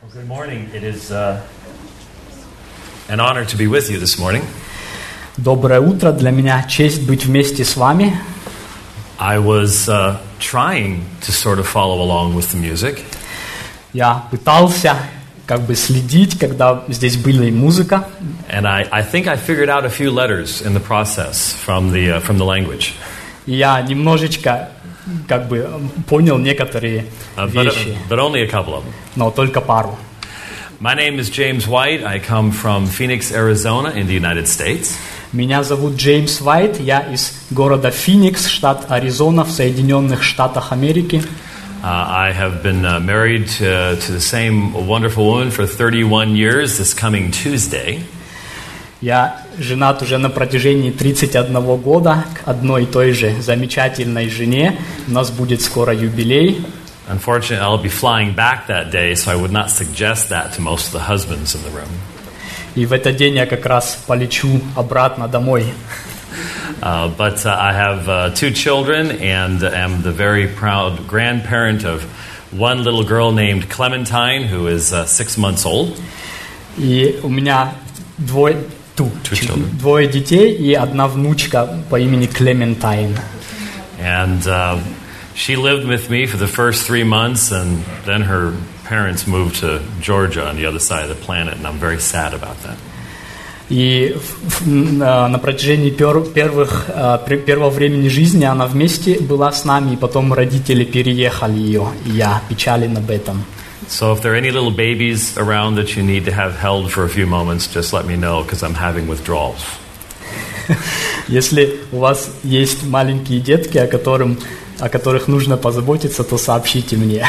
Good morning. It is an honor to be with you this morning. Доброе утро. Для меня честь быть вместе с вами. I was trying to sort of follow along with the music. Я пытался следить, когда здесь была и музыка. And I think I figured out a few letters in the process from the language. И я немножечко понял некоторые вещи. But only a couple of them. Но только пару. My name is James White. I come from Phoenix, Arizona in the United States. Меня зовут Джеймс Уайт. Я из города Феникс, штат Аризона, в Соединенных Штатах Америки. I have been married to the same wonderful woman for 31 years this coming Tuesday. Я женат уже на протяжении 31 года к одной и той же замечательной жене. У нас будет скоро юбилей. Unfortunately, I'll be flying back that day, so I would not suggest that to most of the husbands in the room. И в этот день я как раз полечу обратно домой. But I have 2 children and am the very proud grandparent of one little girl named Clementine, who is 6 months old. И у меня двое детей и одна внучка по имени Клементайн. And she lived with me for the first 3 months, and then her parents moved to Georgia on the other side of the planet, and I'm very sad about that. И на протяжении первого времени жизни она вместе была с нами, и потом родители переехали ее, и я печален об этом. So if there are any little babies around that you need to have held for a few moments, just let me know, because I'm having withdrawals. Если у вас есть маленькие детки, о которых нужно позаботиться, то сообщите мне.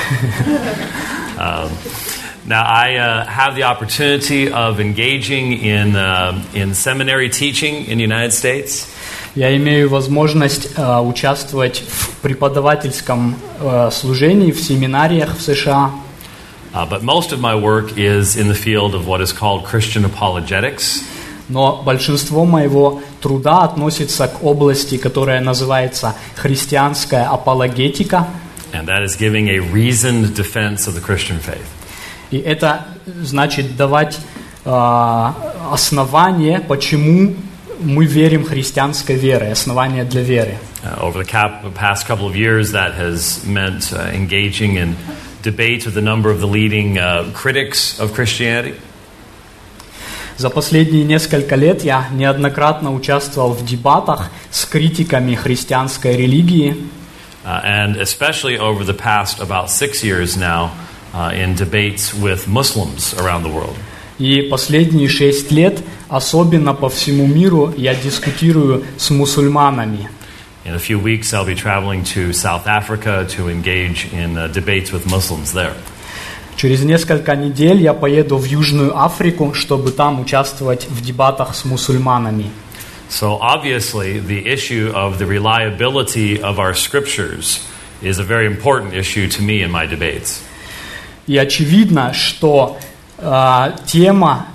Now, I have the opportunity of engaging in seminary teaching in the United States. Я имею возможность участвовать в преподавательском служении в семинариях в США. But most of my work is in the field of what is called Christian apologetics. Но большинство моего труда относится к области, которая называется христианская апологетика. And that is giving a reasoned defense of the Christian faith. И это значит давать основания, почему мы верим христианской верой, основания для веры. Over the past couple of years, that has meant engaging in debate with a number of the leading critics of Christianity. За последние несколько лет я неоднократно участвовал в дебатах с критиками христианской религии. And especially over the past about 6 years now, in debates with Muslims around the world. И последние 6 лет, особенно по всему миру, я дискутирую с мусульманами. In a few weeks, I'll be traveling to South Africa to engage in debates with Muslims there. Через несколько недель я поеду в Южную Африку, чтобы там участвовать в дебатах с мусульманами. So obviously, the issue of the reliability of our scriptures is a very important issue to me in my debates. И очевидно, что тема,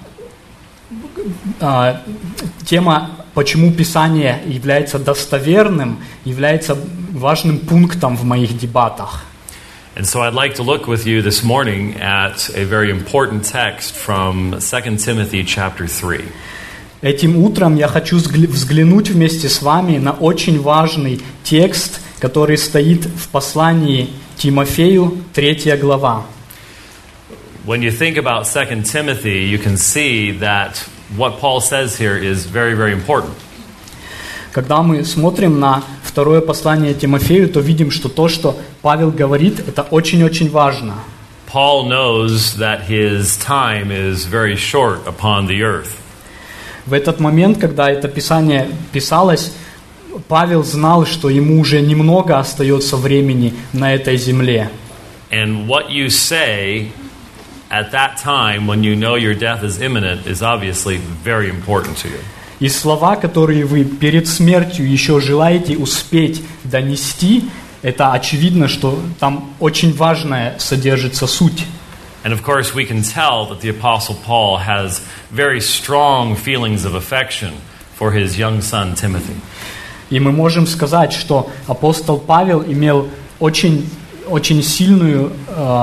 почему Писание является достоверным, является важным пунктом в моих дебатах. And so I'd like to look with you this morning at a very important text from 2 Timothy chapter 3. Этим утром я хочу взглянуть вместе с вами на очень важный текст, который стоит в послании Тимофею, 3 глава. When you think about 2 Timothy, you can see that what Paul says here is very, very important. Когда мы смотрим на второе послание Тимофею, то видим, что то, что Павел говорит, это очень-очень важно. Paul knows that his time is very short upon the earth. В этот момент, когда это Писание писалось, Павел знал, что ему уже немного остается времени на этой земле. And what you say at that time, when you know your death is imminent, is obviously very important to you. И слова, которые вы перед смертью еще желаете успеть донести, это очевидно, что там очень важная содержится суть. And of course, we can tell that the Apostle Paul has very strong feelings of affection for his young son Timothy. И мы можем сказать, что апостол Павел имел очень очень сильную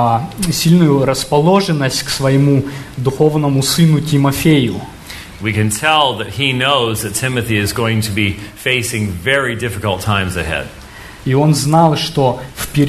расположенность к своему духовному сыну Тимофею. We can tell that he knows that Timothy is going to be facing very difficult times ahead. И он знал, что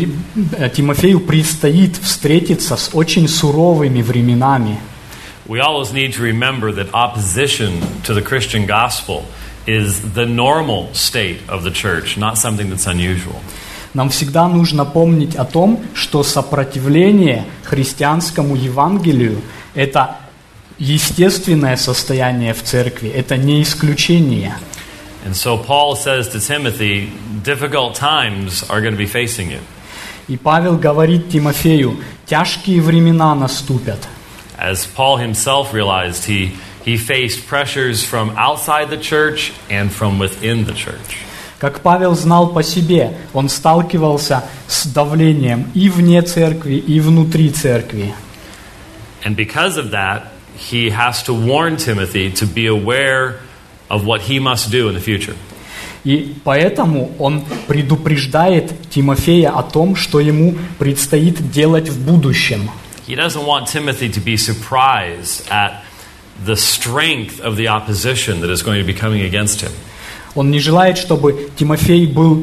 Тимофею предстоит встретиться с очень суровыми временами. We always need to remember that opposition to the Christian gospel is the normal state of the church, not something that's unusual. Нам всегда нужно помнить о том, что сопротивление христианскому Евангелию – это естественное состояние в церкви, это не исключение. And so Paul says to Timothy, difficult times are going to be facing you. И Павел говорит Тимофею, тяжкие времена наступят. As Paul himself realized, he faced pressures from outside the church and from within the church. Как Павел знал по себе, он сталкивался с давлением и вне церкви, и внутри церкви. And because of that, he has to warn Timothy to be aware of what he must do in the future. И поэтому он предупреждает Тимофея о том, что ему предстоит делать в будущем. He doesn't want Timothy to be surprised at the strength of the opposition that is going to be coming against him. Он не желает, чтобы Тимофей был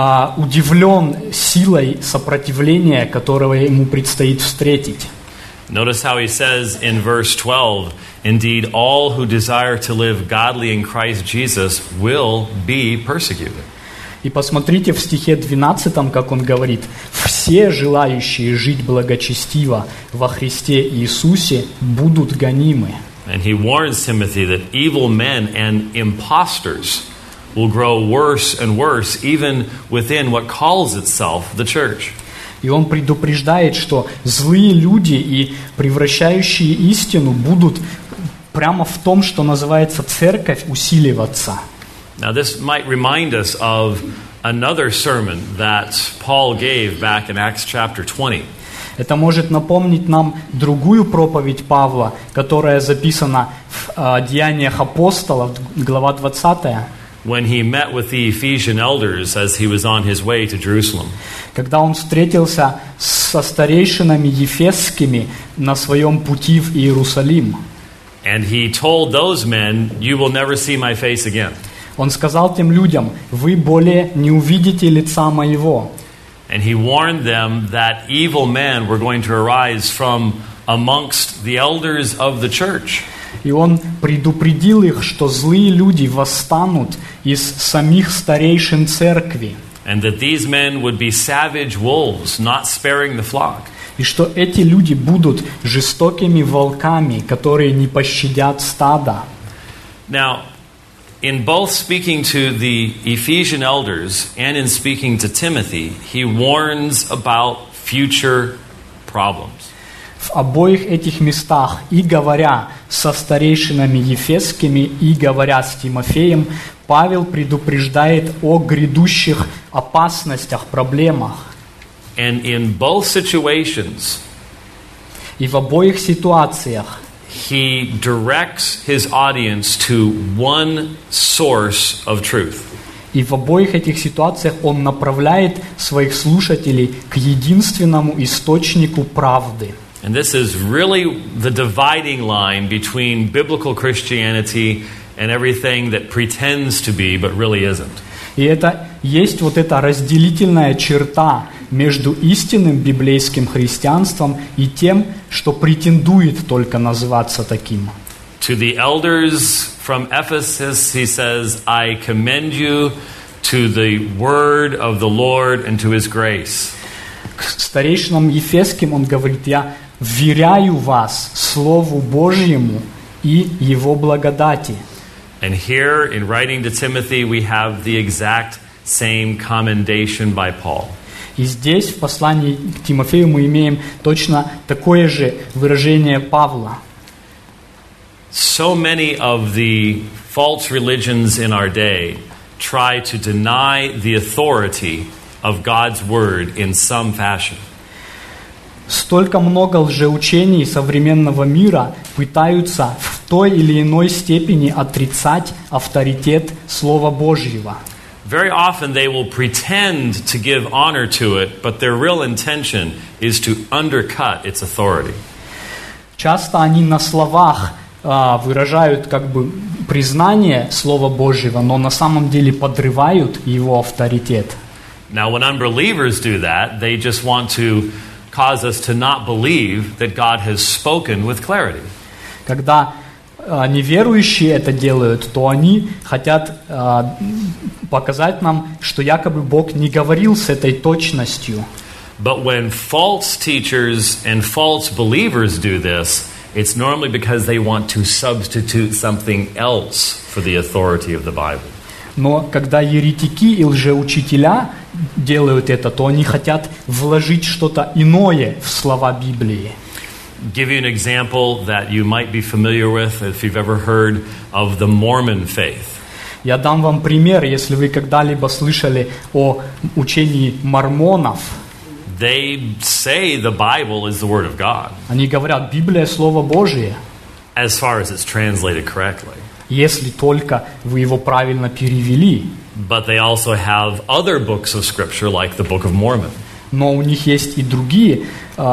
удивлен силой сопротивления, которого ему предстоит встретить. Notice how he says in verse 12, indeed, all who desire to live godly in Christ Jesus will be persecuted. И посмотрите в стихе 12, как он говорит, «Все желающие жить благочестиво во Христе Иисусе будут гонимы». And he warns Timothy that evil men and impostors will grow worse and worse, even within what calls itself the church. И он предупреждает, что злые люди и превращающие истину будут прямо в том, что называется церковь, усиливаться. Now this might remind us of another sermon that Paul gave back in Acts chapter 20. Это может напомнить нам другую проповедь Павла, которая записана в Деяниях апостолов, глава 20. When he met with the Ephesian elders as he was on his way to Jerusalem. Когда он встретился со старейшинами ефесскими на своем пути в Иерусалим. And he told those men, you will never see my face again. Он сказал тем людям, вы более не увидите лица моего. And he warned them that evil men were going to arise from amongst the elders of the church. И он предупредил их, что злые люди восстанут из самих старейшин церкви. And that these men would be savage wolves, not sparing the flock. И что эти люди будут жестокими волками, которые не пощадят стада. Now, in both speaking to the Ephesian elders and in speaking to Timothy, he warns about future problems. В обоих этих местах, и говоря со старейшинами ефесскими, и говоря с Тимофеем, Павел предупреждает о грядущих опасностях, проблемах. And in both situations, и в обоих ситуациях he directs his audience to one source of truth. И в обоих этих ситуациях он направляет своих слушателей к единственному источнику правды. And this is really the dividing line between biblical Christianity and everything that pretends to be but really isn't. И это есть вот эта разделительная черта между истинным библейским христианством и тем, что претендует только называться таким. To the elders from Ephesus, he says, I commend you to the word of the Lord and to his grace. К старейшинам ефесским он говорит, я вверяю вас Слову Божьему и Его благодати. And here, in writing to Timothy, we have the exact same commendation by Paul. И здесь, в послании к Тимофею, мы имеем точно такое же выражение Павла. So many of the false religions in our day try to deny the authority of God's word in some fashion. Столько много лжеучений современного мира пытаются в той или иной степени отрицать авторитет Слова Божьего. very often they will pretend to give honor to it, but their real intention is to undercut its authority. Часто они на словах выражают как бы признание Слова Божьего, но на самом деле подрывают его авторитет. Now, when unbelievers do that, they just want to cause us to not believe that God has spoken with clarity. Когда неверующие это делают, то они хотят показать нам, что якобы Бог не говорил с этой точностью. But when false teachers and false believers do this, it's normally because they want to substitute something else for the authority of the Bible. Но когда еретики и лжеучителя делают это, то они хотят вложить что-то иное в слова Библии. Give you an example that you might be familiar with if you've ever heard of the Mormon faith. Я дам вам пример, если вы когда-либо слышали о учении мормонов. They say the Bible is the Word of God, Они говорят, Библия – Слово Божие, as far as it's translated correctly. если только вы его правильно перевели. But they also have other books of Scripture, like the Book of Mormon. Но у них есть и другие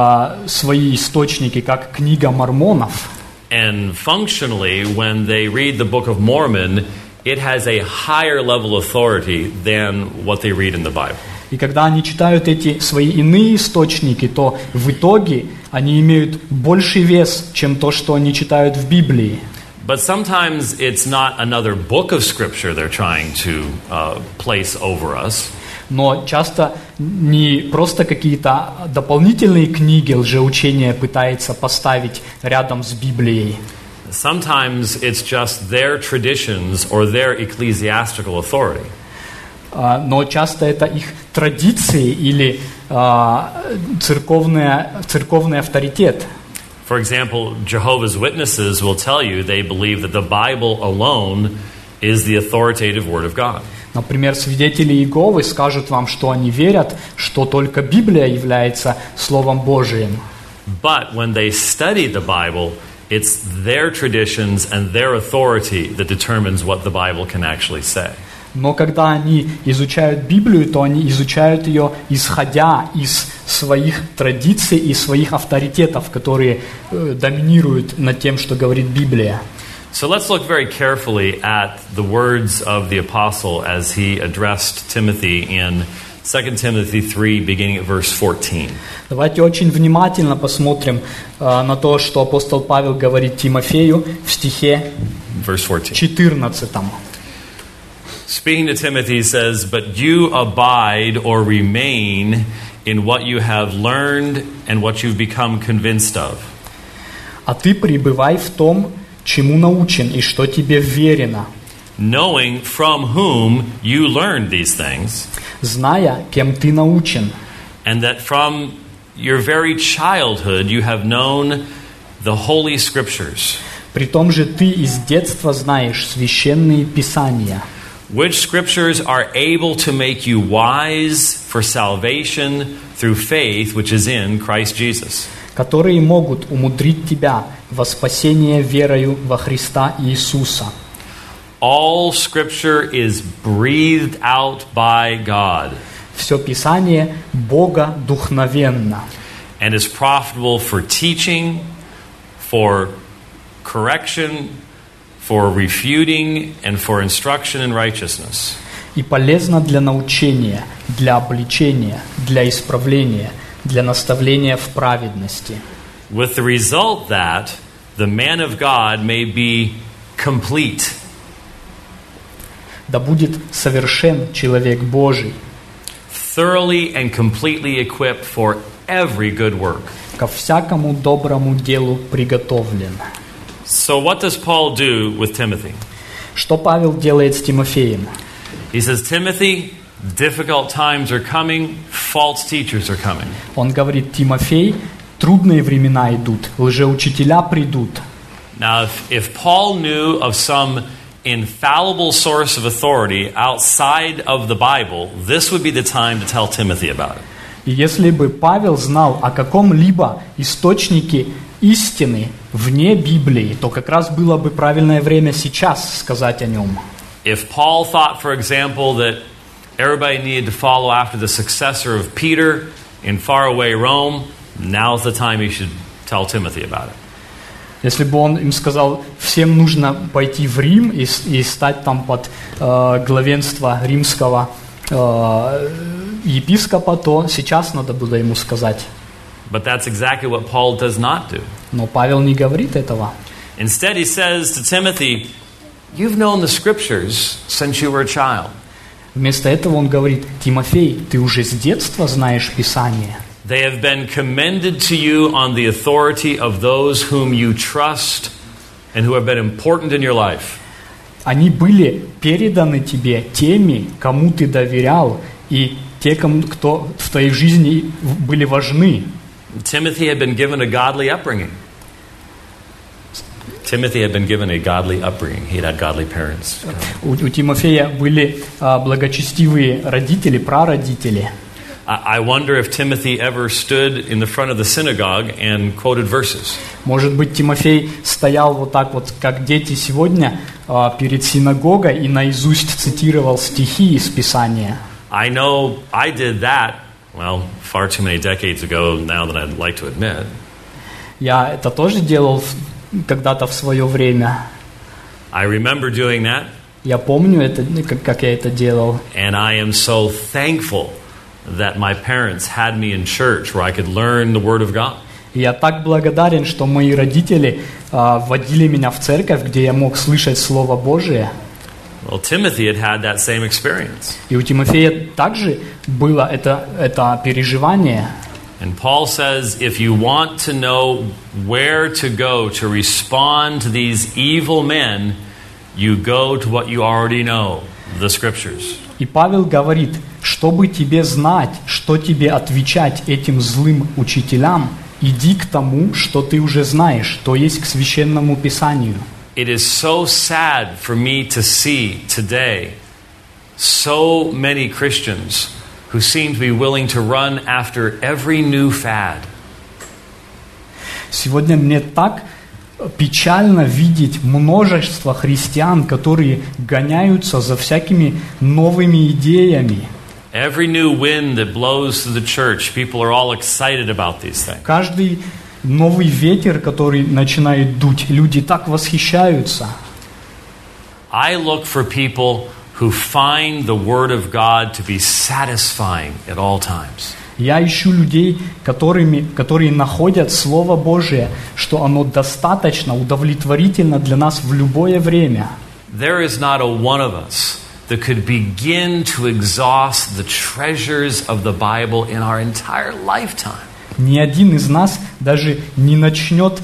свои источники, как книга мормонов. And functionally, when they read the Book of Mormon, it has a higher level of authority than what they read in the Bible. И когда они читают эти свои иные источники, то в итоге они имеют больший вес, чем то, что они читают в Библии. But sometimes it's not another book of Scripture they're trying to place over us. Но часто не просто какие-то дополнительные книги лжеучения пытается поставить рядом с Библией. Sometimes it's just their traditions or their ecclesiastical authority. Но часто это их традиции или церковный авторитет. For example, Jehovah's Witnesses will tell you they believe that the Bible alone is the authoritative Word of God. Например, свидетели Иеговы скажут вам, что они верят, что только Библия является Словом Божиим. But when they study the Bible, it's their traditions and their authority that determines what the Bible can actually say. Но когда они изучают Библию, то они изучают ее, исходя из своих традиций и своих авторитетов, которые доминируют над тем, что говорит Библия. So let's look very carefully at the words of the apostle as he addressed Timothy in 2 Timothy 3, beginning at verse 14. Давайте очень внимательно посмотрим на то, что апостол Павел говорит Тимофею в стихе 14. Speaking to Timothy, he says, "But you abide or remain in what you have learned and what you've become convinced of." А ты пребывай в том, чему научен и что тебе вверено. Knowing from whom you learned these things, зная, кем ты научен, and that from your very childhood you have known the Holy Scriptures, при том же ты из детства знаешь священные писания, which Scriptures are able to make you wise for salvation through faith which is in Christ Jesus. которые могут умудрить тебя во спасение верою во Христа Иисуса. All Scripture is breathed out by God. Все Писание Бога духновенно. And is profitable for teaching, for correction, for refuting, and for instruction in righteousness. И полезно для научения, для обличения, для исправления, для наставления в праведности. With the result that the man of God may be complete. Да будет совершен человек Божий. Thoroughly and completely equipped for every good work. Ко всякому доброму делу приготовлен. So what does Paul do with Timothy? Что Павел делает с Тимофеем? He says, Timothy, difficult times are coming, false teachers are coming. Он говорит: Тимофей, трудные времена идут, лжеучителя придут. Now, if Paul knew of some infallible source of authority outside of the Bible, this would be the time to tell Timothy about it. И если бы Павел знал о каком-либо источнике истины вне Библии, то как раз было бы правильное время сейчас сказать о нем. If Paul thought, for example, that everybody needed to follow after the successor of Peter in faraway Rome, now's the time he should tell Timothy about it. Если бы он им сказал, всем нужно пойти в Рим и стать там под главенство римского епископа, то сейчас надо было ему сказать. But that's exactly what Paul does not do. Но Павел не говорит этого. Instead, he says to Timothy, you've known the scriptures since you were a child. Вместо этого он говорит: Тимофей, ты уже с детства знаешь Писание. They have been commended to you on the authority of those whom you trust and who have been important in your life. Они были переданы тебе теми, кому ты доверял, и те, кто в твоей жизни были важны. Timothy had been given a godly upbringing. Timothy had been given a godly upbringing. He had godly parents. У Тимофея были благочестивые родители, прародители. I wonder if Timothy ever stood in the front of the synagogue and quoted verses. Может быть, Тимофей стоял вот так вот, как дети сегодня, перед синагогой и наизусть цитировал стихи из Писания. I know I did that, well, far too many decades ago now than I'd like to admit. Я это тоже делал когда-то в свое время. I remember doing that. Я помню это, как я это делал. And I am so thankful that my parents had me in church where I could learn the Word of God. И я так благодарен, что мои родители вводили меня в церковь, где я мог слышать Слово Божие. Well, Timothy had that same experience. И у Тимофея также было это переживание. And Paul says, if you want to know where to go to respond to these evil men, you go to what you already know, the Scriptures. И Павел говорит, чтобы тебе знать, что тебе отвечать этим злым учителям, иди к тому, что ты уже знаешь, то есть к Священному Писанию. It is so sad for me to see today so many Christians who seem to be willing to run after every new fad. Сегодня мне так печально видеть множество христиан, которые гоняются за всякими новыми идеями. Every new wind that blows through the church, people are all excited about these things. Каждый новый ветер, который начинает дуть, люди так восхищаются. I look for people who find the Word of God to be satisfying at all times. Я ищу людей, которые находят Слово Божие, что оно достаточно удовлетворительно для нас в любое время. There is not a one of us that could begin to exhaust the treasures of the Bible in our entire lifetime. Ни один из нас даже не начнет,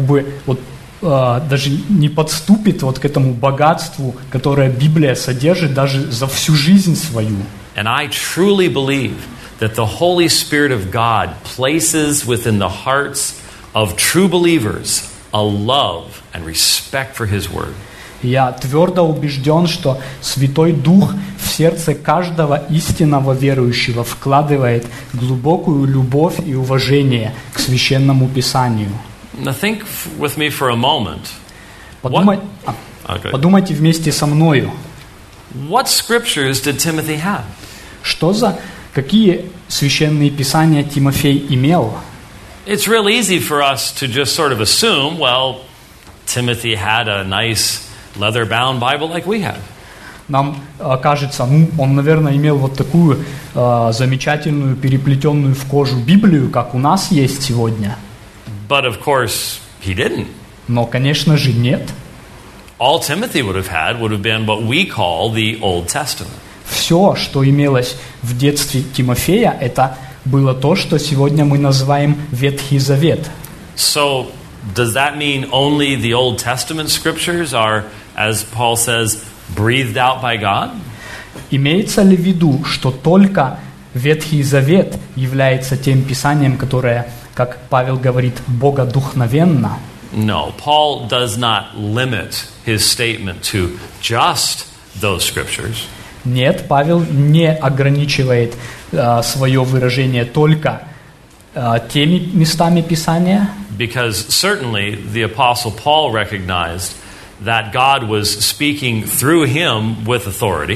даже не подступит вот к этому богатству, которое Библия содержит даже за всю жизнь свою. And I truly believe that the Holy Spirit of God places within the hearts of true believers a love and respect for His Word. Я твердо убежден, что Святой Дух в сердце каждого истинного верующего вкладывает глубокую любовь и уважение к Священному Писанию. Now think with me for a moment. Подумайте вместе со мною. What scriptures did Timothy have? Какие священные писания Тимофей имел? It's real easy for us to just sort of assume, well, Timothy had a nice leather-bound Bible like we have. Нам кажется, он, наверное, имел вот такую замечательную, переплетенную в кожу Библию, как у нас есть сегодня. But of course, he didn't. Но, конечно же, нет. All Timothy would have been what we call the Old Testament. Все, что имелось в детстве Тимофея, это было то, что сегодня мы называем Ветхий Завет. So, does that mean only the Old Testament scriptures are, as Paul says, breathed out by God? Имеется ли в виду, что только Ветхий Завет является тем писанием, которое, как Павел говорит, богодухновенно? No, Paul does not limit his statement to just those scriptures. Нет, Павел не ограничивает свое выражение только теми местами Писания. Because certainly the Apostle Paul recognized that God was speaking through him with authority.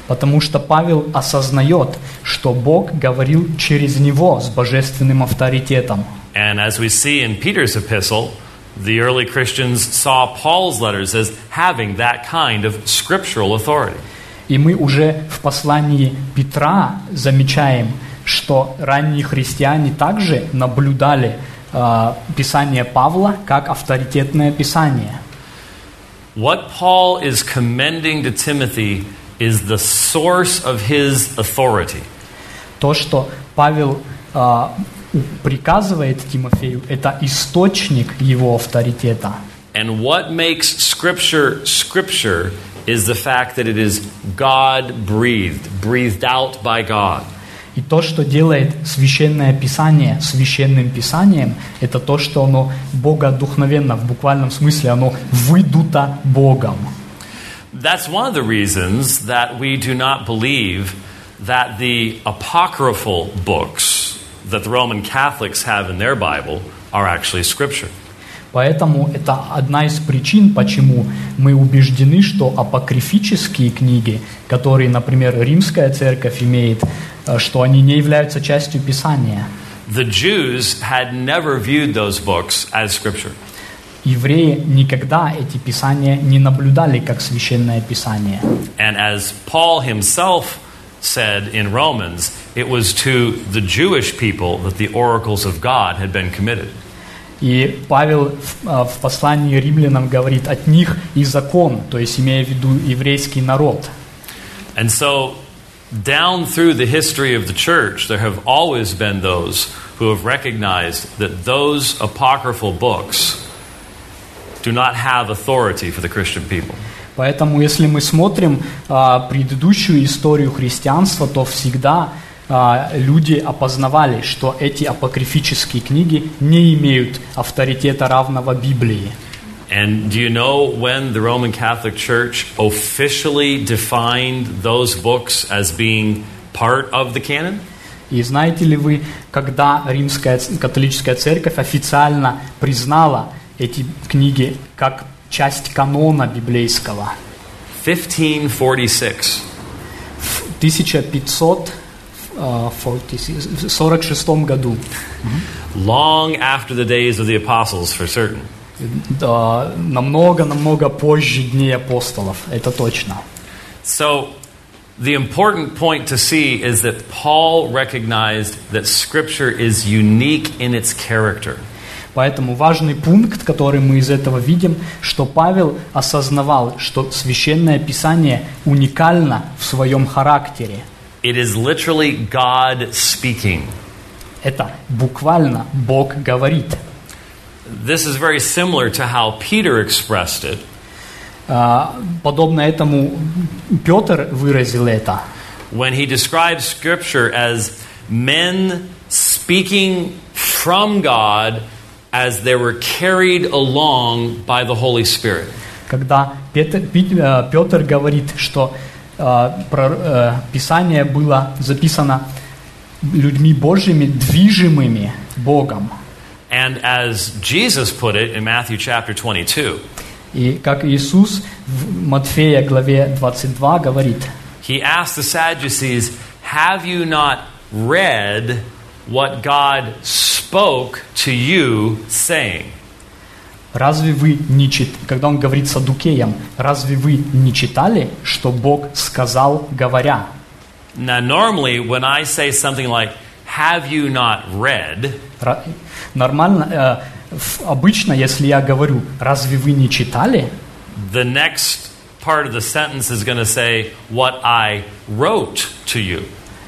Потому что Павел осознает, что Бог говорил через него с божественным авторитетом. And as we see in Peter's epistle, the early Christians saw Paul's letters as having that kind of scriptural authority. И мы уже в послании Петра замечаем, что ранние христиане также наблюдали Писание Павла как авторитетное Писание. What Paul is commending to Timothy is the source of his authority. То, что Павел приказывает Тимофею, это источник его авторитета. And what makes Scripture Scripture is the fact that it is God-breathed, breathed out by God. И то, что делает Священное Писание Священным Писанием, это то, что оно богодухновенно, в буквальном смысле, оно выдуто Богом. That's one of the reasons that we do not believe that the apocryphal books that the Roman Catholics have in their Bible are actually Scripture. Поэтому это одна из причин, почему мы убеждены, что апокрифические книги, которые, например, Римская Церковь имеет, что они не являются частью Писания. The Jews had never viewed those books as Scripture. Евреи никогда эти писания не наблюдали как Священное Писание. And as Paul himself said in Romans, it was to the Jewish people that the oracles of God had been committed. И Павел в послании римлянам говорит, от них и закон, то есть имея в виду еврейский народ. And so, down through the history of the church, there have always been those who have recognized that those apocryphal books do not have authority for the Christian people. Поэтому, если мы смотрим предыдущую историю христианства, то всегда люди опознавали, что эти апокрифические книги не имеют авторитета равного Библии. And do you know when the Roman Catholic Church officially defined those books as being part of the canon? И знаете ли вы, когда Римская католическая церковь официально признала эти книги как часть канона библейского? 1546. В 1546 году. Long after the days of the apostles, for certain. Намного позже дней апостолов, это точно. So, the important point to see is that Paul recognized that Scripture is unique in its character. Поэтому важный пункт, который мы из этого видим, что Павел осознавал, что Священное Писание уникально в своем характере. It is literally God speaking. Это буквально Бог говорит. This is very similar to how Peter expressed it. Подобно этому Петр выразил это. When he describes Scripture as men speaking from God as they were carried along by the Holy Spirit. Когда Петр говорит, что Писание было записано людьми Божьими, движимыми Богом. And as Jesus put it in Matthew chapter 22, и как Иисус в Матфея главе 22 говорит, He asked the Sadducees, have you not read what God spoke to you, saying? Разве вы не когда он говорит саддукеям, разве вы не читали, что Бог сказал, говоря? Now, normally, when I say something like, have you not read? Нормально, обычно, если я говорю, разве вы не читали? The next part of the sentence is going to say, what I wrote to you.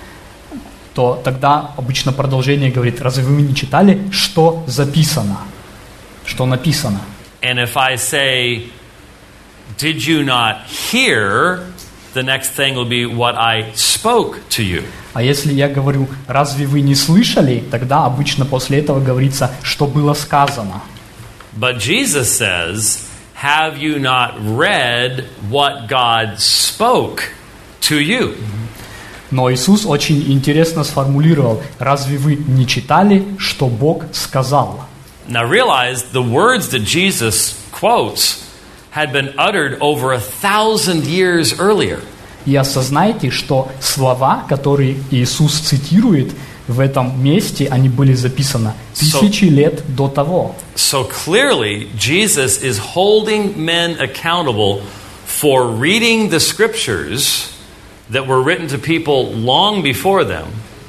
То тогда обычно продолжение говорит, разве вы не читали, что записано? Что написано? And if I say, did you not hear? The next thing will be what I spoke to you. А если я говорю, разве вы не слышали, тогда обычно после этого говорится, что было сказано. But Jesus says, have you not read what God spoke to you? Но Иисус очень интересно сформулировал, разве вы не читали, что Бог сказал? Now realize the words that Jesus quotes had been uttered over 1,000 years earlier. и осознайте, что слова, которые Иисус цитирует в этом месте, они были записаны тысячи лет до того. So clearly, Jesus is holding men accountable for reading the scriptures that were written to people long before them,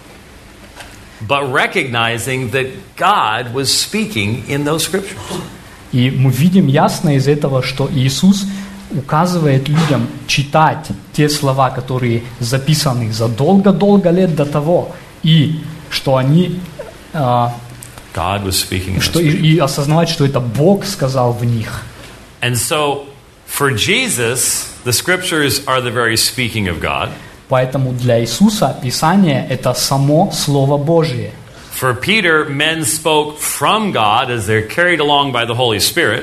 but recognizing that God was speaking in those scriptures. И мы видим ясно из этого, что Иисус указывает людям читать те слова, которые записаны задолго-долго лет до того, и что они God was speaking in что, those scriptures. и осознавать, что это Бог сказал в них. And so, for Jesus, the scriptures are the very speaking of God. Поэтому для Иисуса Писание – это само Слово Божие. For Peter, men spoke from God as they're carried along by the Holy Spirit.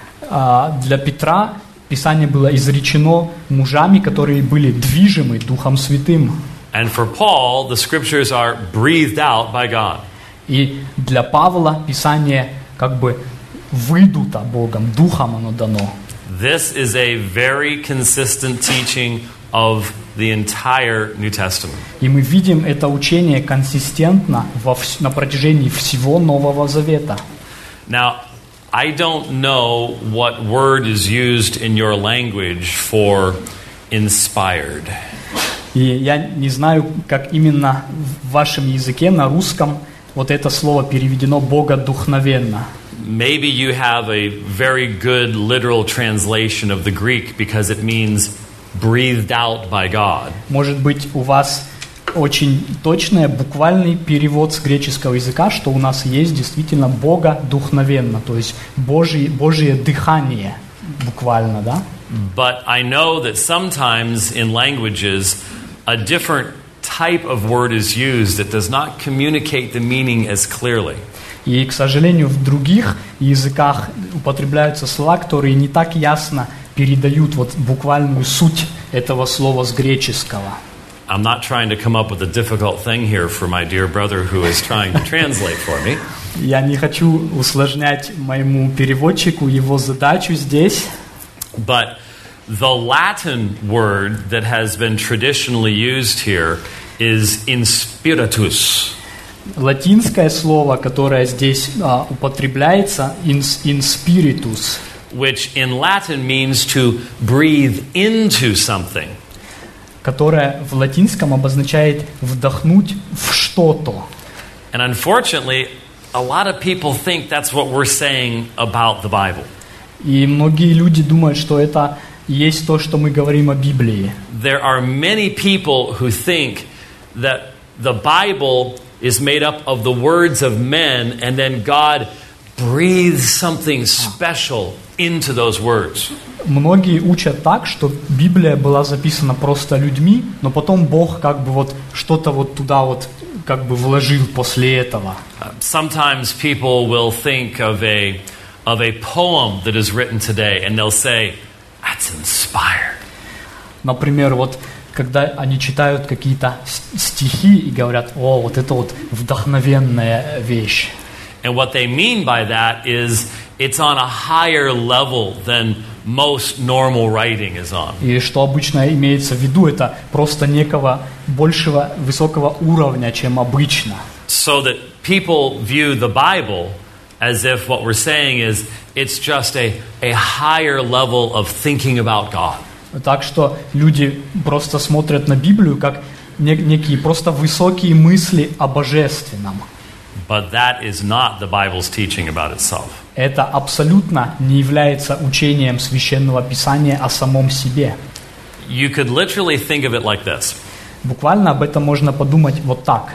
Для Петра Писание было изречено мужами, которые были движимы Духом Святым. And for Paul, the scriptures are breathed out by God. И для Павла Писание как бы выдуто Богом, Духом оно дано. This is a very consistent teaching of the entire New Testament. И мы видим это учение консистентно на протяжении всего Нового Завета. Now, I don't know what word is used in your language for inspired. И я не знаю, как именно в вашем языке, на русском, вот это слово переведено «богодухновенно». Maybe you have a very good literal translation of the Greek because it means breathed out by God. Может быть, у вас очень точный, буквальный перевод с греческого языка, что у нас есть действительно богодухновенно, то есть Божье дыхание, буквально, да? But I know that sometimes in languages a different type of word is used that does not communicate the meaning as clearly. И, к сожалению, в других языках употребляются слова, которые не так ясно передают вот буквальную суть этого слова с греческого. I'm not trying to come up with a difficult thing here for my dear brother who is trying to translate for me. Я не хочу усложнять моему переводчику его задачу здесь. But the Latin word that has been traditionally used here is inspiritus. Латинское слово, которое здесь употребляется, in spiritus, which in Latin means to breathe into something. которое в латинском обозначает вдохнуть в что-то. And unfortunately, a lot of people think that's what we're saying about the Bible. И многие люди думают, что это есть то, что мы говорим о Библии. There are many people who think that the Bible is made up of the words of men and then God breathes something special into those words. Многие учат так, что Библия была записана просто людьми, но потом Бог как бы вот что-то вот туда вот как бы вложил после этого. Sometimes people will think of a poem that is written today and they'll say, that's inspired. Например, вот когда они читают какие-то стихи и говорят: о, вот это вот вдохновенная вещь. And what they mean by that is it's on a higher level than most normal writing is on. И что обычно имеется в виду, это просто некого большего, высокого уровня, чем обычно. So that people view the Bible as if what we're saying is it's just a higher level of thinking about God. Так что люди просто смотрят на Библию как некие просто высокие мысли о божественном. But that is not the Bible's teaching about itself. Это абсолютно не является учением Священного Писания о самом себе. You could literally think of it like this. Буквально об этом можно подумать вот так.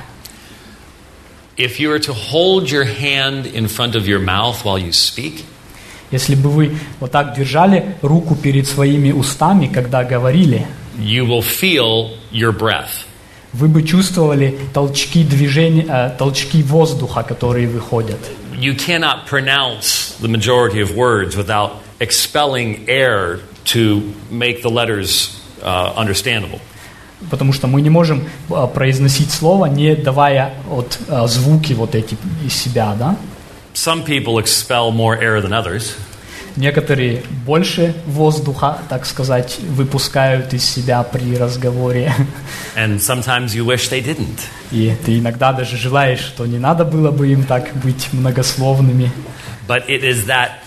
If you were to hold your hand in front of your mouth while you speak, Если бы вы вот так держали руку перед своими устами, когда говорили, you will feel your breath. вы бы чувствовали толчки движения, толчки воздуха, которые выходят. You cannot pronounce the majority of words without expelling air to make the letters understandable. Потому что мы не можем произносить слово, не давая звуки вот эти из себя, да? Some people expel more air than others. некоторые больше воздуха, так сказать, выпускают из себя при разговоре. And sometimes you wish they didn't. И ты иногда даже желаешь, что не надо было бы им так быть многословными. But it is that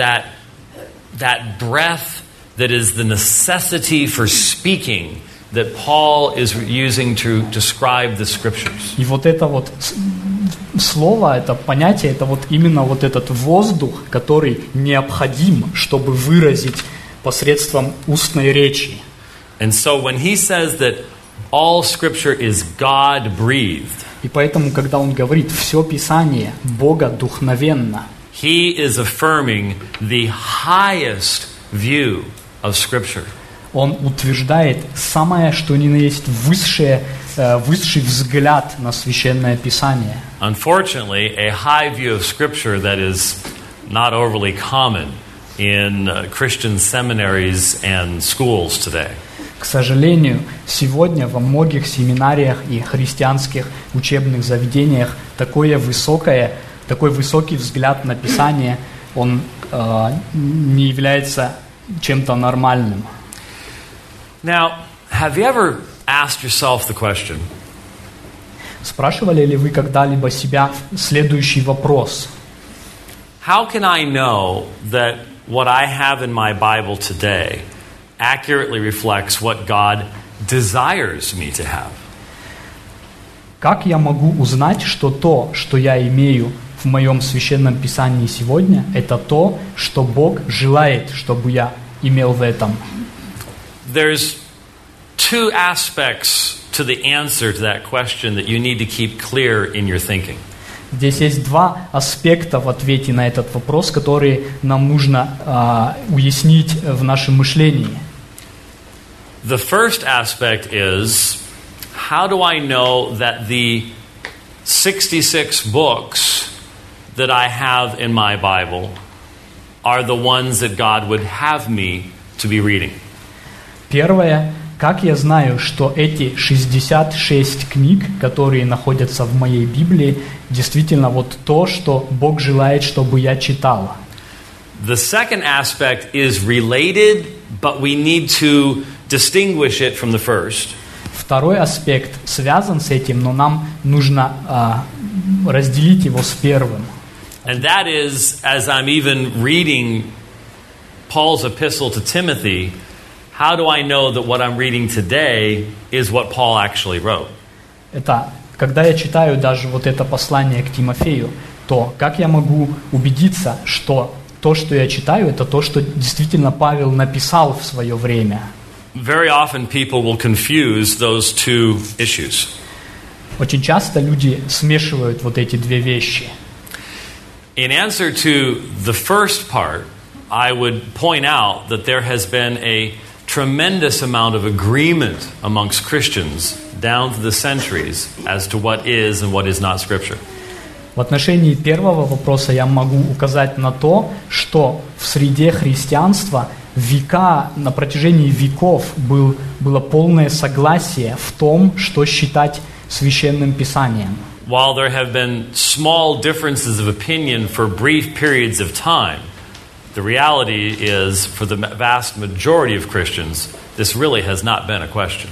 breath that is the necessity for speaking that Paul is using to describe the scriptures. И вот это вот слово, это понятие, это вот именно вот этот воздух, который необходим, чтобы выразить посредством устной речи. And so when he says that all scripture is God-breathed, И поэтому, когда он говорит «все Писание Богодухновенно», he is affirming the highest view of scripture. он утверждает самое, что ни на есть высший взгляд на Священное Писание. Unfortunately, a high view of scripture that is not overly common in Christian seminaries and schools today. К сожалению, сегодня во многих семинариях и христианских учебных заведениях такой высокий взгляд на Писание, он не является чем-то нормальным. Now, have you ever asked yourself the question, Спрашивали ли вы когда-либо себя следующий вопрос? how can I know that what I have in my Bible today accurately reflects what God desires me to have? Как я могу узнать, что то, что я имею в моем Священном Писании сегодня, это то, что Бог желает, чтобы я имел в этом? There's two aspects to the answer to that question that you need to keep clear in your thinking. Здесь есть два аспекта в ответе на этот вопрос, которые нам нужно уяснить в нашем мышлении. The first aspect is, how do I know that the 66 books that I have in my Bible are the ones that God would have me to be reading? Первое, как я знаю, что эти 66 книг, которые находятся в моей Библии, действительно вот то, что Бог желает, чтобы я читал. The second aspect is related, but we need to distinguish it from the first. Второй аспект связан с этим, но нам нужно разделить его с первым. And that is, as I'm even reading Paul's epistle to Timothy, how do I know that what I'm reading today is what Paul actually wrote? Это, когда я читаю даже вот это послание к Тимофею, то как я могу убедиться, что то, что я читаю, это то, что действительно Павел написал в свое время? Very often people will confuse those two issues. Очень часто люди смешивают вот эти две вещи. In answer to the first part, I would point out that there has been a tremendous amount of agreement amongst Christians down through the centuries as to what is and what is not Scripture. В отношении первого вопроса я могу указать на то, что в среде христианства на протяжении веков было полное согласие в том, что считать Священным Писанием. While there have been small differences of opinion for brief periods of time, the reality is, for the vast majority of Christians, this really has not been a question.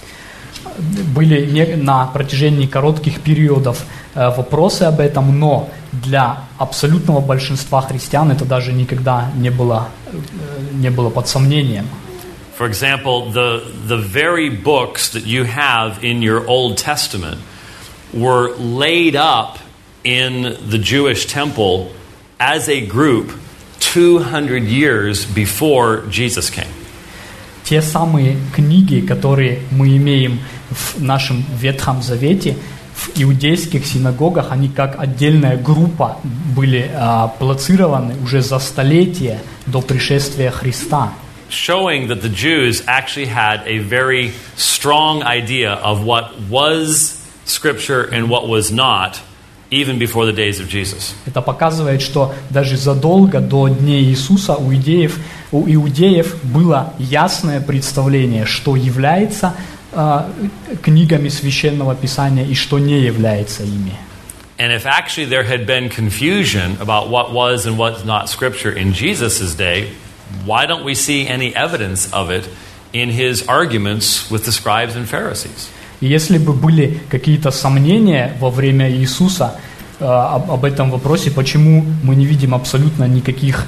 Были на протяжении коротких периодов вопросы об этом, но для абсолютного большинства христиан это даже никогда не было под сомнением. For example, the very books that you have in your Old Testament were laid up in the Jewish temple as a group 200 years before Jesus came. Те самые книги, которые мы имеем в нашем Ветхом Завете, в иудейских синагогах, они как отдельная группа были плацированы уже за столетия до пришествия Христа. Showing that the Jews actually had a very strong idea of what was Scripture and what was not, even before the days of Jesus. Это показывает, что даже задолго до дней Иисуса у иудеев было ясное представление, что является книгами Священного Писания и что не является ими. And if actually there had been confusion about what was and was not Scripture in Jesus' day, why don't we see any evidence of it in his arguments with the scribes and Pharisees? И если бы были какие-то сомнения во время Иисуса об этом вопросе, почему мы не видим абсолютно никаких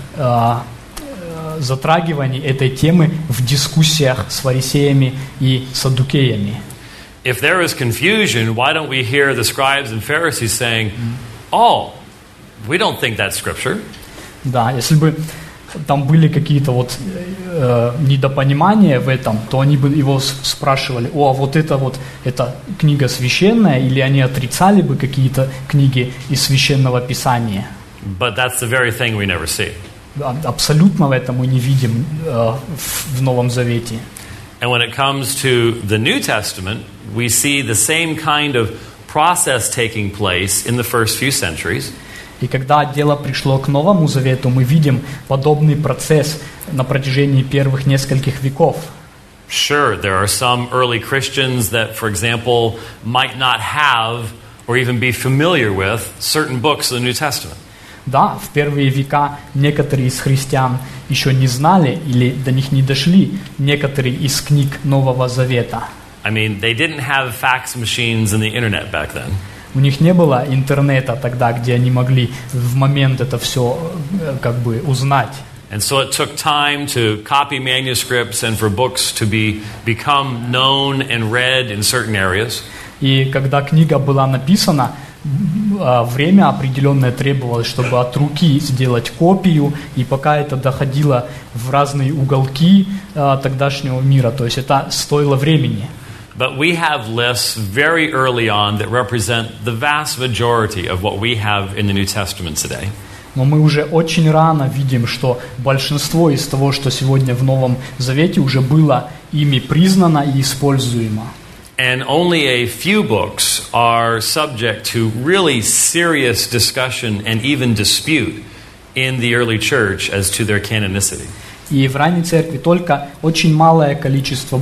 затрагиваний этой темы в дискуссиях с фарисеями и саддукеями? If there is confusion, why don't we hear the scribes and Pharisees saying, "Oh, we don't think that's Scripture"? Да, если бы там были какие-то вот недопонимания в этом, то они бы его спрашивали: «О, вот это книга священная», или они отрицали бы какие-то книги из Священного Писания. But that's the very thing we never see. Абсолютно в этом мы не видим в Новом Завете. And when it comes to the New Testament, we see the same kind of process taking place in the first few centuries. И когда дело пришло к Новому Завету, мы видим подобный процесс на протяжении первых нескольких веков. Sure, there are some early Christians that, for example, might not have or even be familiar with certain books of the New Testament. Да, в первые века некоторые из христиан еще не знали или до них не дошли некоторые из книг Нового Завета. I mean, they didn't have fax machines and the internet back then. У них не было интернета тогда, где они могли в момент это все как бы узнать. And so it took time to copy manuscripts and for books to become known and read in certain areas. И когда книга была написана, время определенное требовалось, чтобы от руки сделать копию, и пока это доходило в разные уголки тогдашнего мира, то есть это стоило времени. But we have lists very early on that represent the vast majority of what we have in the New Testament today. Но мы уже очень рано видим, что большинство из того, что сегодня в Новом Завете, уже было ими признано и используемо. And only a few books are subject to really serious discussion and even dispute in the early church as to their canonicity. И в ранней церкви только очень малое количество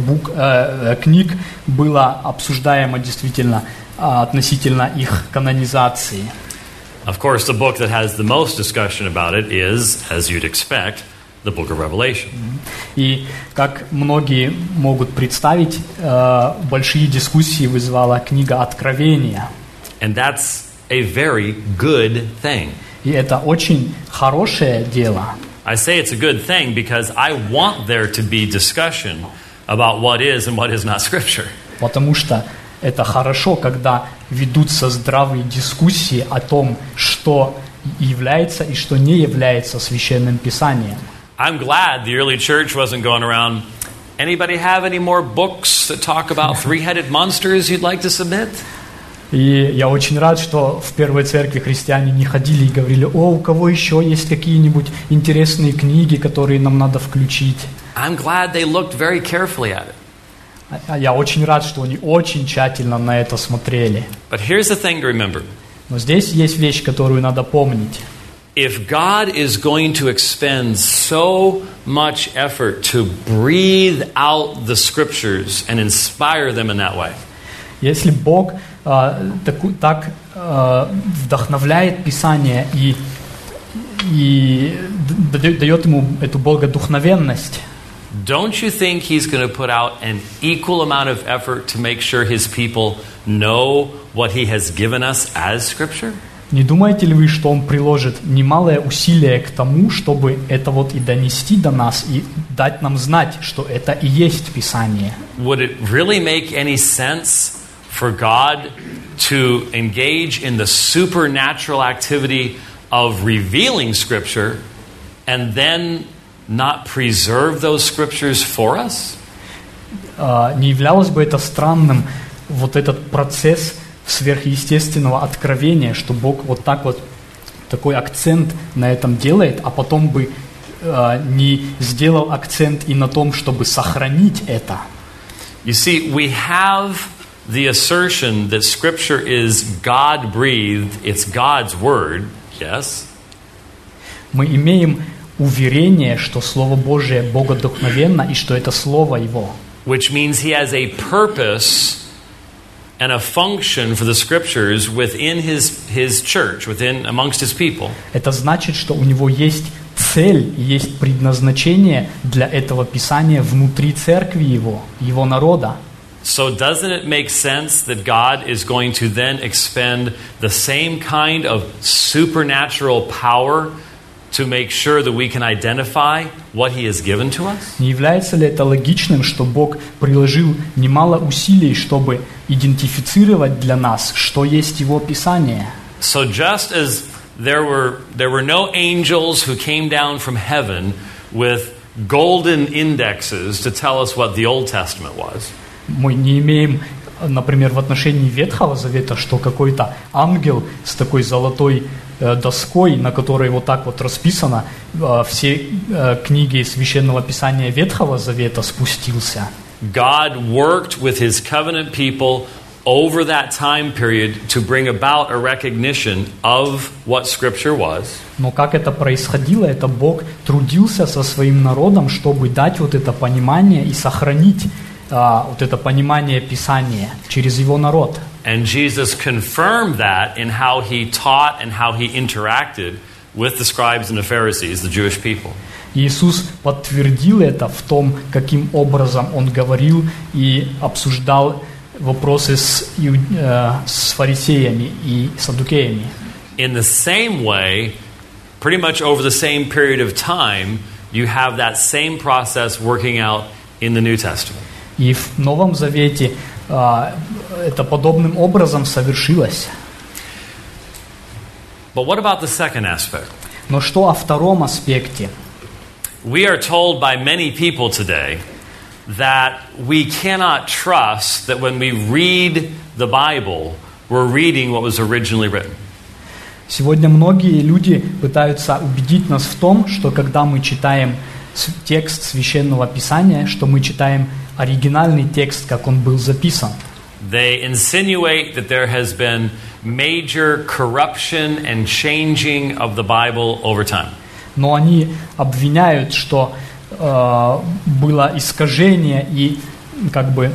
книг было обсуждаемо действительно относительно их канонизации. Of course, the book that has the most discussion about it is, as you'd expect, the book of Revelation. И как многие могут представить, большие дискуссии вызвала книга Откровения. And that's a very good thing. И это очень хорошее дело. I say it's a good thing because I want there to be discussion about what is and what is not Scripture. Потому что это хорошо, когда ведутся здравые дискуссии о том, что является и что не является Священным Писанием. I'm glad the early church wasn't going around, anybody have any more books that talk about three-headed monsters you'd like to submit? И я очень рад, что в первой церкви христиане не ходили и говорили: «О, у кого еще есть какие-нибудь интересные книги, которые нам надо включить?» I'm glad they looked very carefully at it. Я очень рад, что они очень тщательно на это смотрели. But here's the thing to remember. Но здесь есть вещь, которую надо помнить. If God is going to expend so much effort to breathe out the Scriptures and inspire them in that way, если Бог так вдохновляет Писание и дает ему эту богодухновенность, don't you think He's going to put out an equal amount of effort to make sure His people know what He has given us as Scripture? Не думаете ли вы, что Он приложит немалое усилие к тому, чтобы это вот и донести до нас, и дать нам знать, что это и есть Писание? Would it really make any sense for God to engage in the supernatural activity of revealing Scripture and then not preserve those Scriptures for us? Не являлось бы это странным, вот этот процесс сверхъестественного откровения, что Бог вот так вот такой акцент на этом делает, а потом бы не сделал акцент и на том, чтобы сохранить это? You see, we have the assertion that Scripture is God-breathed, it's God's word, yes? Мы имеем уверение, что Слово Божие богодухновенно и что это Слово Его. Which means He has a purpose and a function for the scriptures within his church, amongst his people. Это значит, что у него есть цель, есть предназначение для этого Писания внутри церкви его народа. So doesn't it make sense that God is going to then expend the same kind of supernatural power to make sure that we can identify what He has given to us? Не является ли это логичным, что Бог приложил немало усилий, чтобы идентифицировать для нас, что есть Его Писание? So just as there were no angels who came down from heaven with golden indexes to tell us what the Old Testament was. Мы не имеем, например, в отношении Ветхого Завета, что какой-то ангел с такой золотой доской, на которой вот так вот расписано все книги Священного Писания Ветхого Завета, спустился. God worked with His covenant people over that time period to bring about a recognition of what Scripture was. Но как это происходило, это Бог трудился со своим народом, чтобы дать вот это понимание и сохранить вот это понимание Писания через Его народ. And Jesus confirmed that in how He taught and how He interacted with the scribes and the Pharisees, the Jewish people. Иисус подтвердил это в том, каким образом Он говорил и обсуждал вопросы с фарисеями и саддукеями. In the same way, pretty much over the same period of time, you have that same process working out in the New Testament. И в Новом Завете это подобным образом совершилось. But what about the second aspect? Но что о втором аспекте? We are told by many people today that we cannot trust that when we read the Bible, we're reading what was originally written. Сегодня многие люди пытаются убедить нас в том, что когда мы читаем текст Священного Писания, что мы читаем оригинальный текст, как он был записан. They insinuate that there has been major corruption and changing of the Bible over time. Но они обвиняют, что было искажение и как бы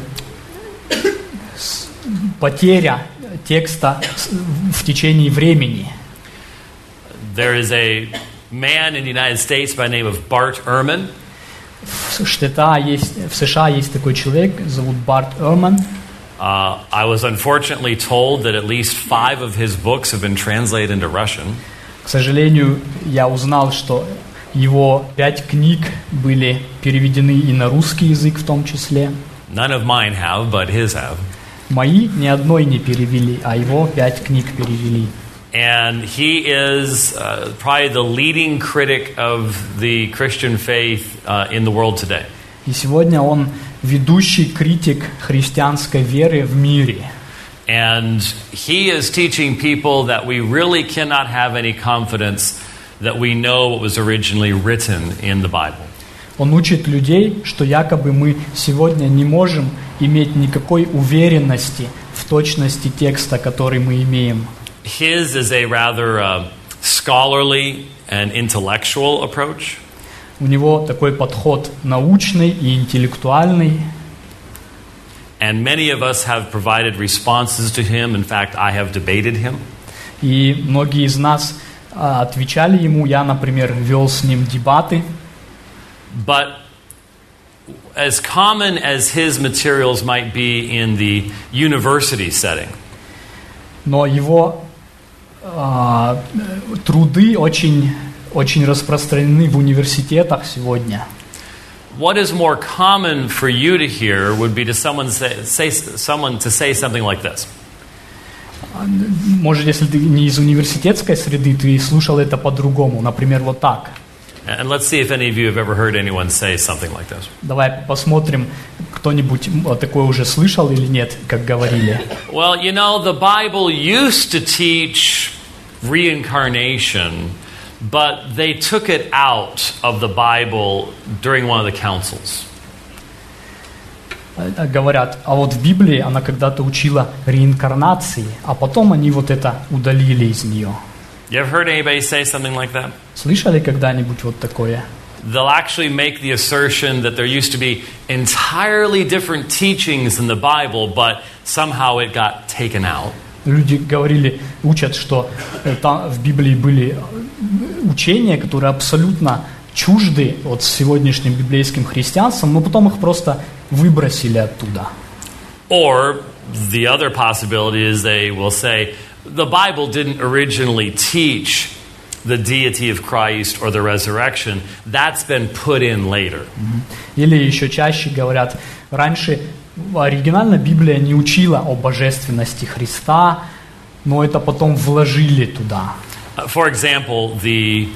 потеря текста в течение времени. There is a man in the United States by the name of Bart Ehrman. В США есть такой человек, зовут Барт Эрман. I was unfortunately told that at least 5 of his books have been translated into Russian. К сожалению, я узнал, что его 5 книг были переведены и на русский язык в том числе. None of mine have, but his have. Мои ни одной не перевели, а его 5 книг перевели. And he is probably the leading critic of the Christian faith in the world today. И сегодня он ведущий критик христианской веры в мире. And he is teaching people that we really cannot have any confidence that we know what was originally written in the Bible. Он учит людей, что якобы мы сегодня не можем иметь никакой уверенности в точности текста, который мы имеем. His is a rather scholarly and intellectual approach. У него такой подход научный и интеллектуальный. And many of us have provided responses to him. In fact, I have debated him. И многие из нас отвечали ему. Я, например, вел с ним дебаты. But as common as his materials might be in the university setting, но его труды очень распространены в университетах сегодня. what is more common for you to hear would be to someone to say something like this. Может, если ты не из университетской среды, ты слушал это по-другому, например, вот так. And let's see if any of you have ever heard anyone say something like this. Давай посмотрим, кто-нибудь такое уже слышал или нет, как говорили. Well, you know, the Bible used to teach reincarnation, but they took it out of the Bible during one of the councils. Говорят, а вот в Библии она когда-то учила реинкарнации, а потом они вот это удалили из нее. You ever heard anybody say something like that? Слышали когда-нибудь вот такое? they'll actually make the assertion that there used to be entirely different teachings in the Bible, but somehow it got taken out. Люди учат, что там в Библии были учения, которые абсолютно чужды от сегодняшним библейским христианством, но потом их просто выбросили оттуда. Or the other possibility is they will say, the Bible didn't originally teach the deity of Christ or the resurrection. That's been put in later. Или еще чаще говорят, раньше оригинально Библия не учила о божественности Христа, но это потом вложили туда. For example, the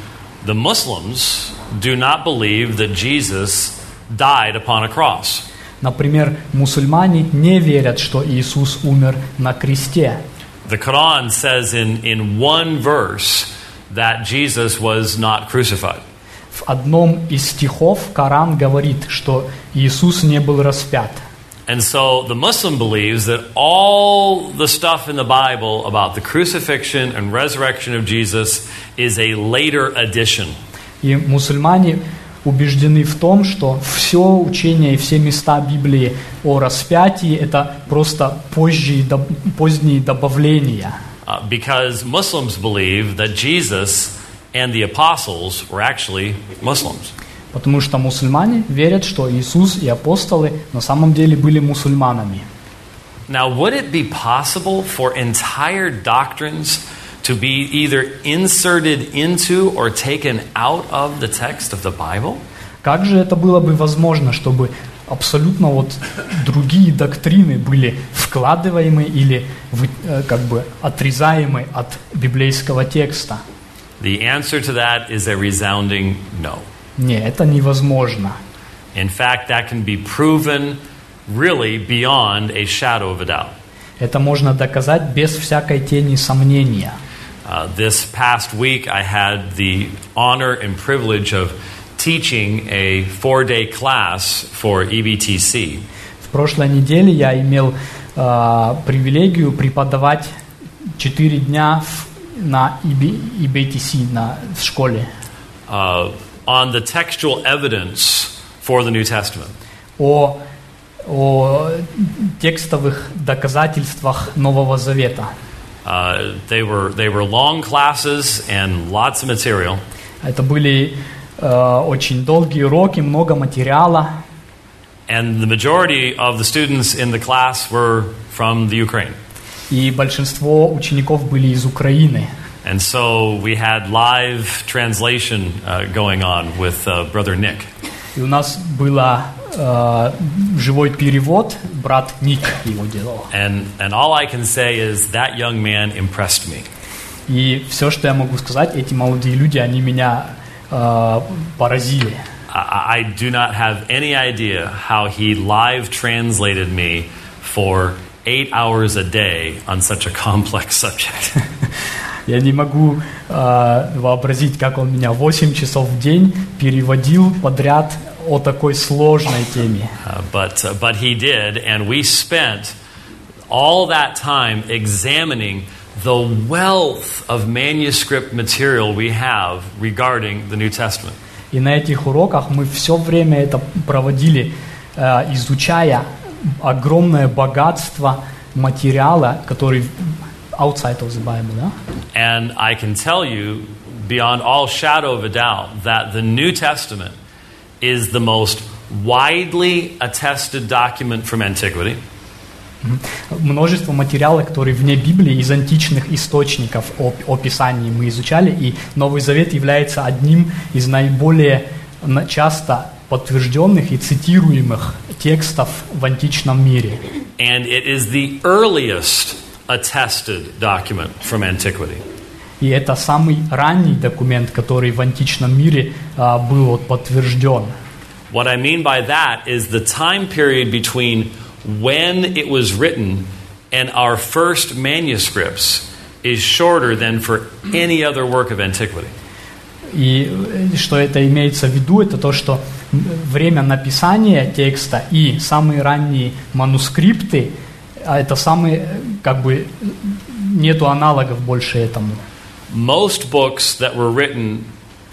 Muslims do not believe that Jesus died upon a cross. Например, мусульмане не верят, что Иисус умер на кресте. The Quran says in one verse that Jesus was not crucified. В одном из стихов Коран говорит, что Иисус не был распят. And so the Muslim believes that all the stuff in the Bible about the crucifixion and resurrection of Jesus is a later addition. И мусульмане убеждены в том, что все учение и все места Библии о распятии – это просто поздние добавления. Because Muslims believe that Jesus and the apostles were actually Muslims. Потому что мусульмане верят, что Иисус и апостолы на самом деле были мусульманами. Now, would it be possible for entire doctrines to be either inserted into or taken out of the text of the Bible? Как же это было бы возможно, чтобы абсолютно другие доктрины были вкладываемы или как бы отрезаемы от библейского текста? The answer to that is a resounding no. Нет, это невозможно. In fact, that can be proven really beyond a shadow of a doubt. Это можно доказать без всякой тени сомнения. This past week, I had the honor and privilege of teaching a 4-day class for EBTC. В прошлой неделе я имел привилегию преподавать 4 дня на EBTC в школе. On the textual evidence for the New Testament. О текстовых доказательствах Нового Завета. They were long classes and lots of material. Это были очень долгие уроки, много материала. And the majority of the students in the class were from the Ukraine. И большинство учеников были из Украины. And so we had live translation going on with Brother Nick. И у нас был живой перевод, брат Ник его делал. And all I can say is that young man impressed me. И все, что я могу сказать, эти молодые люди, они меня поразили. I do not have any idea how he live translated me for 8 hours a day on such a complex subject. Я не могу вообразить, как он меня 8 часов в день переводил подряд о такой сложной теме. But he did, and we spent all that time examining the wealth of manuscript material we have regarding the New Testament. И на этих уроках мы все время это проводили, изучая огромное богатство материала, который outside of the Bible, да? And I can tell you, beyond all shadow of a doubt, that the New Testament is the most widely attested document from antiquity. Множество материала, которые вне Библии, из античных источников о Писании мы изучали, и Новый Завет является одним из наиболее часто подтвержденных и цитируемых текстов в античном мире. And it is the earliest attested document from antiquity. И это самый ранний документ, который в античном мире был подтвержден. What I mean by that is the time period between when it was written and our first manuscripts is shorter than for any other work of antiquity. И что это имеется в виду, это то, что время написания текста и самые ранние манускрипты, это самые, как бы, нету аналогов больше этому. Most books that were written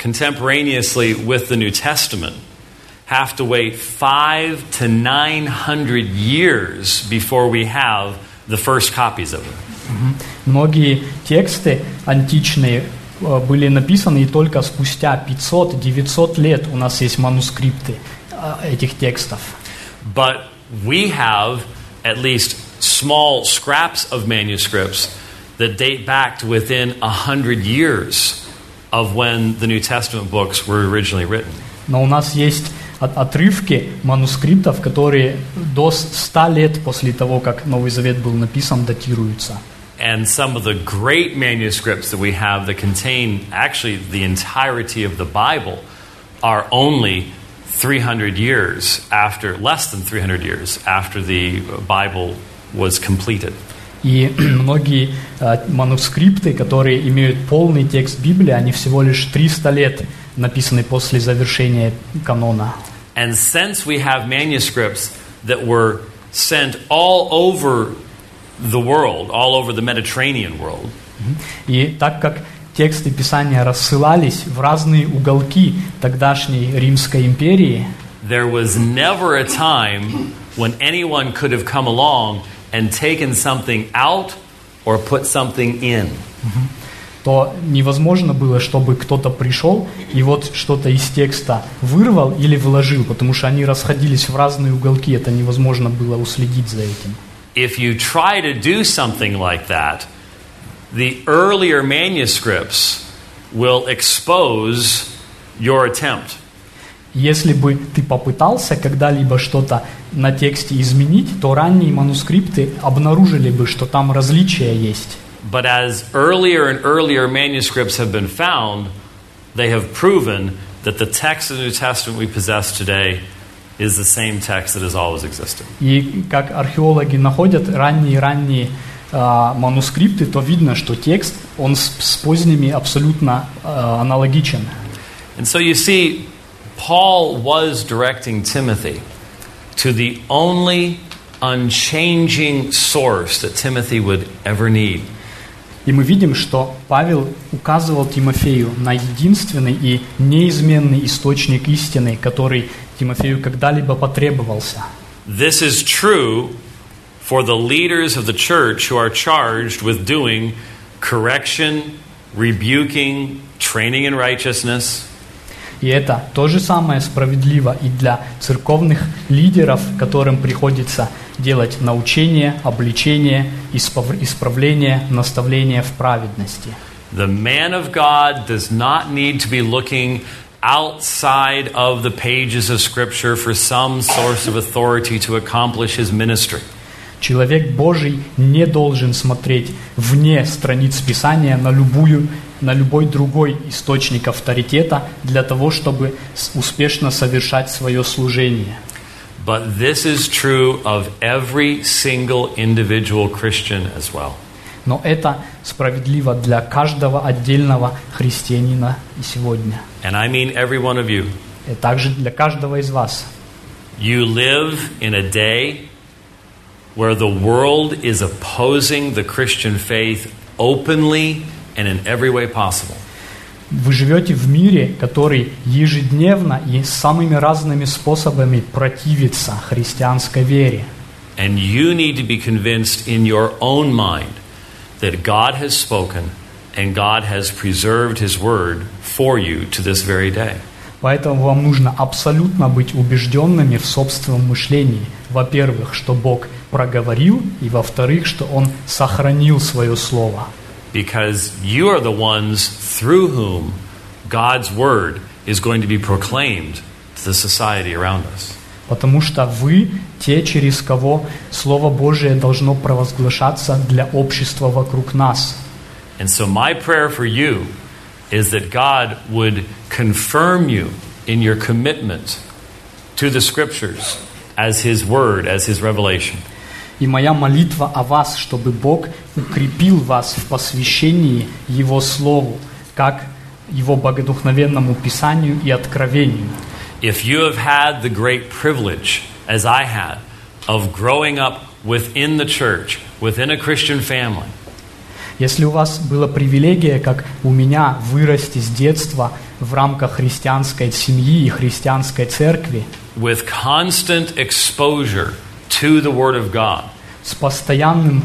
contemporaneously with the New Testament have to wait 500 to 900 years before we have the first copies of it. Многие тексты античные были написаны, и только спустя 500-900 лет у нас есть манускрипты этих текстов. But we have at least small scraps of manuscripts that date back to within 100 years of when the New Testament books were originally written. Но у нас есть отрывки манускриптов, которые до 100 лет после того, как Новый Завет был написан, датируются. And some of the great manuscripts that we have that contain actually the entirety of the Bible are only 300 years after, less than 300 years after the Bible was completed. И многие манускрипты, которые имеют полный текст Библии, они всего лишь 300 лет написаны после завершения канона. And since we have manuscripts that were sent all over the world, all over the Mediterranean world, и так как тексты Писания рассылались в разные уголки тогдашней Римской империи, there was never a time when anyone could have come along and taken something out or put something in. то невозможно было, чтобы кто-то пришел и вот что-то из текста вырвал или вложил, потому что они расходились в разные уголки, это невозможно было уследить за этим. If you try to do something like that, the earlier manuscripts will expose your attempt. Если бы ты попытался когда-либо что-то на тексте изменить, то ранние манускрипты обнаружили бы, что там различия есть. But as earlier and earlier manuscripts have been found, they have proven that the text of the New Testament we possess today is the same text that has always existed. И как археологи находят ранние манускрипты, то видно, что текст, он с поздними абсолютно аналогичен. And so you see, Paul was directing Timothy to the only unchanging source that Timothy would ever need. И мы видим, что Павел указывал Тимофею на единственный и неизменный источник истины, который Тимофею когда-либо потребовался. This is true for the leaders of the church who are charged with doing correction, rebuking, training in righteousness. И это то же самое справедливо и для церковных лидеров, которым приходится делать научение, обличение, исправление, наставление в праведности. The man of God does not need to be looking outside of the pages of Scripture for some source of authority to accomplish his ministry. Человек Божий не должен смотреть вне страниц Писания на любой другой источник авторитета для того, чтобы успешно совершать свое служение. But this is true of every single individual Christian as well. Но это справедливо для каждого отдельного христианина и сегодня. And I mean every one of you. И также для каждого из вас. You live in a day where the world is opposing the Christian faith openly and in every way possible. Вы живете в мире, который ежедневно и самыми разными способами противится христианской вере. And you need to be convinced in your own mind that God has spoken and God has preserved His word for you to this very day. Поэтому вам нужно абсолютно быть убежденными в собственном мышлении. Во-первых, что Бог проговорил, и во-вторых, что Он сохранил свое слово. Because you are the ones through whom God's word is going to be proclaimed to the society around us. Потому что вы те, через кого Слово Божие должно провозглашаться для общества вокруг нас. And so my prayer for you is that God would confirm you in your commitment to the Scriptures as His word, as His revelation. И моя молитва о вас, чтобы Бог укрепил вас в посвящении Его Слову, как Его богодухновенному Писанию и откровению. If you have had the great privilege, as I had, of growing up within the church, within a Christian family, если у вас была привилегия, как у меня, вырасти с детства в рамках христианской семьи и христианской церкви with constant exposure to the Word of God, с постоянным,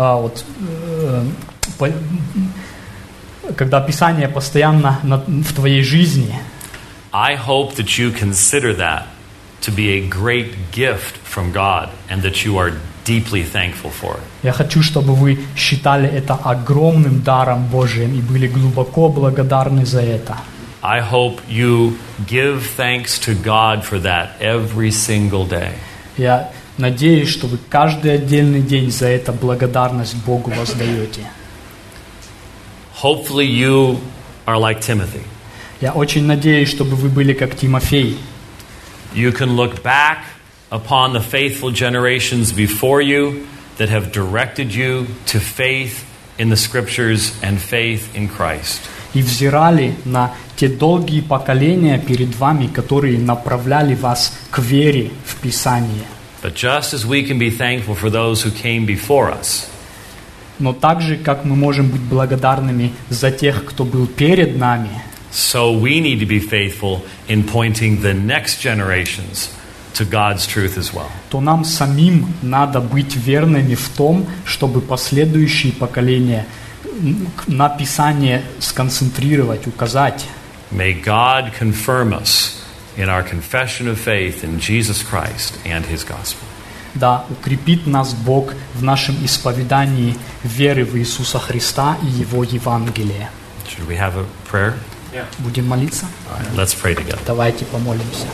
когда Писание постоянно в твоей жизни, I hope that you consider that to be a great gift from God and that you are deeply thankful for it. я хочу, чтобы вы считали это огромным даром Божиим и были глубоко благодарны за это. I hope you give thanks to God for that every single day. Я надеюсь, что вы каждый отдельный день за это благодарность Богу воздаете. Hopefully you are like Timothy. Я очень надеюсь, чтобы вы были как Тимофей. You can look back upon the faithful generations before you that have directed you to faith in the Scriptures and faith in Christ. И взирали на те долгие поколения перед вами, которые направляли вас к вере в Писание. But just as we can be thankful for those who came before us, Но так же, как мы можем быть благодарными за тех, кто был перед нами, so we need to be faithful in pointing the next generations to God's truth as well. то нам самим надо быть верными в том, чтобы последующие поколения на Писание сконцентрировать, указать. May God confirm us in our confession of faith in Jesus Christ and His gospel. Да, укрепит нас Бог в нашем исповедании веры в Иисуса Христа и Его Евангелие. Should we have a prayer? Будем молиться? All right, let's pray together. Давайте помолимся.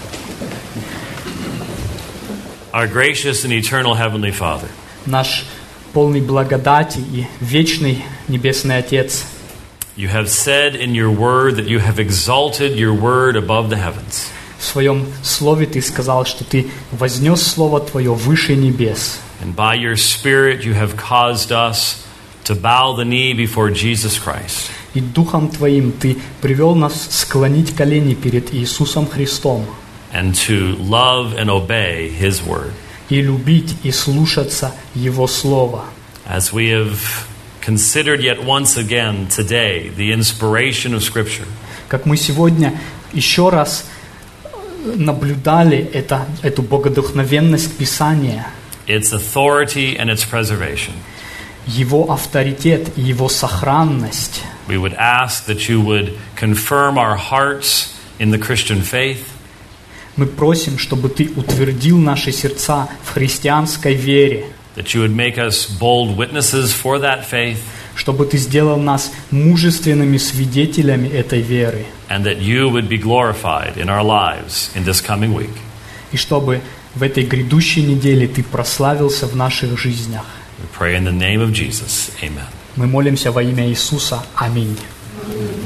Our gracious and eternal Heavenly Father, Наш полный благодати и вечный Небесный Отец, you have said in your word that you have exalted your word above the heavens. в Своем Слове Ты сказал, что Ты вознес Слово Твое выше небес. And by your Spirit you have caused us to bow the knee before Jesus Christ. И Духом Твоим Ты привел нас склонить колени перед Иисусом Христом And to love and obey His word. и любить и слушаться Его Слова. As we have considered yet once again today the inspiration of Scripture, Как мы сегодня еще раз наблюдали эту богодухновенность Писания, its authority and its preservation, Его авторитет и Его сохранность, we would ask that you would confirm our hearts in the Christian faith, мы просим, чтобы Ты утвердил наши сердца в христианской вере, that you would make us bold witnesses for that faith, чтобы Ты сделал нас мужественными свидетелями этой веры, and that you would be glorified in our lives in this coming week. и чтобы в этой грядущей неделе Ты прославился в наших жизнях. We pray in the name of Jesus. Amen. Мы молимся во имя Иисуса. Аминь.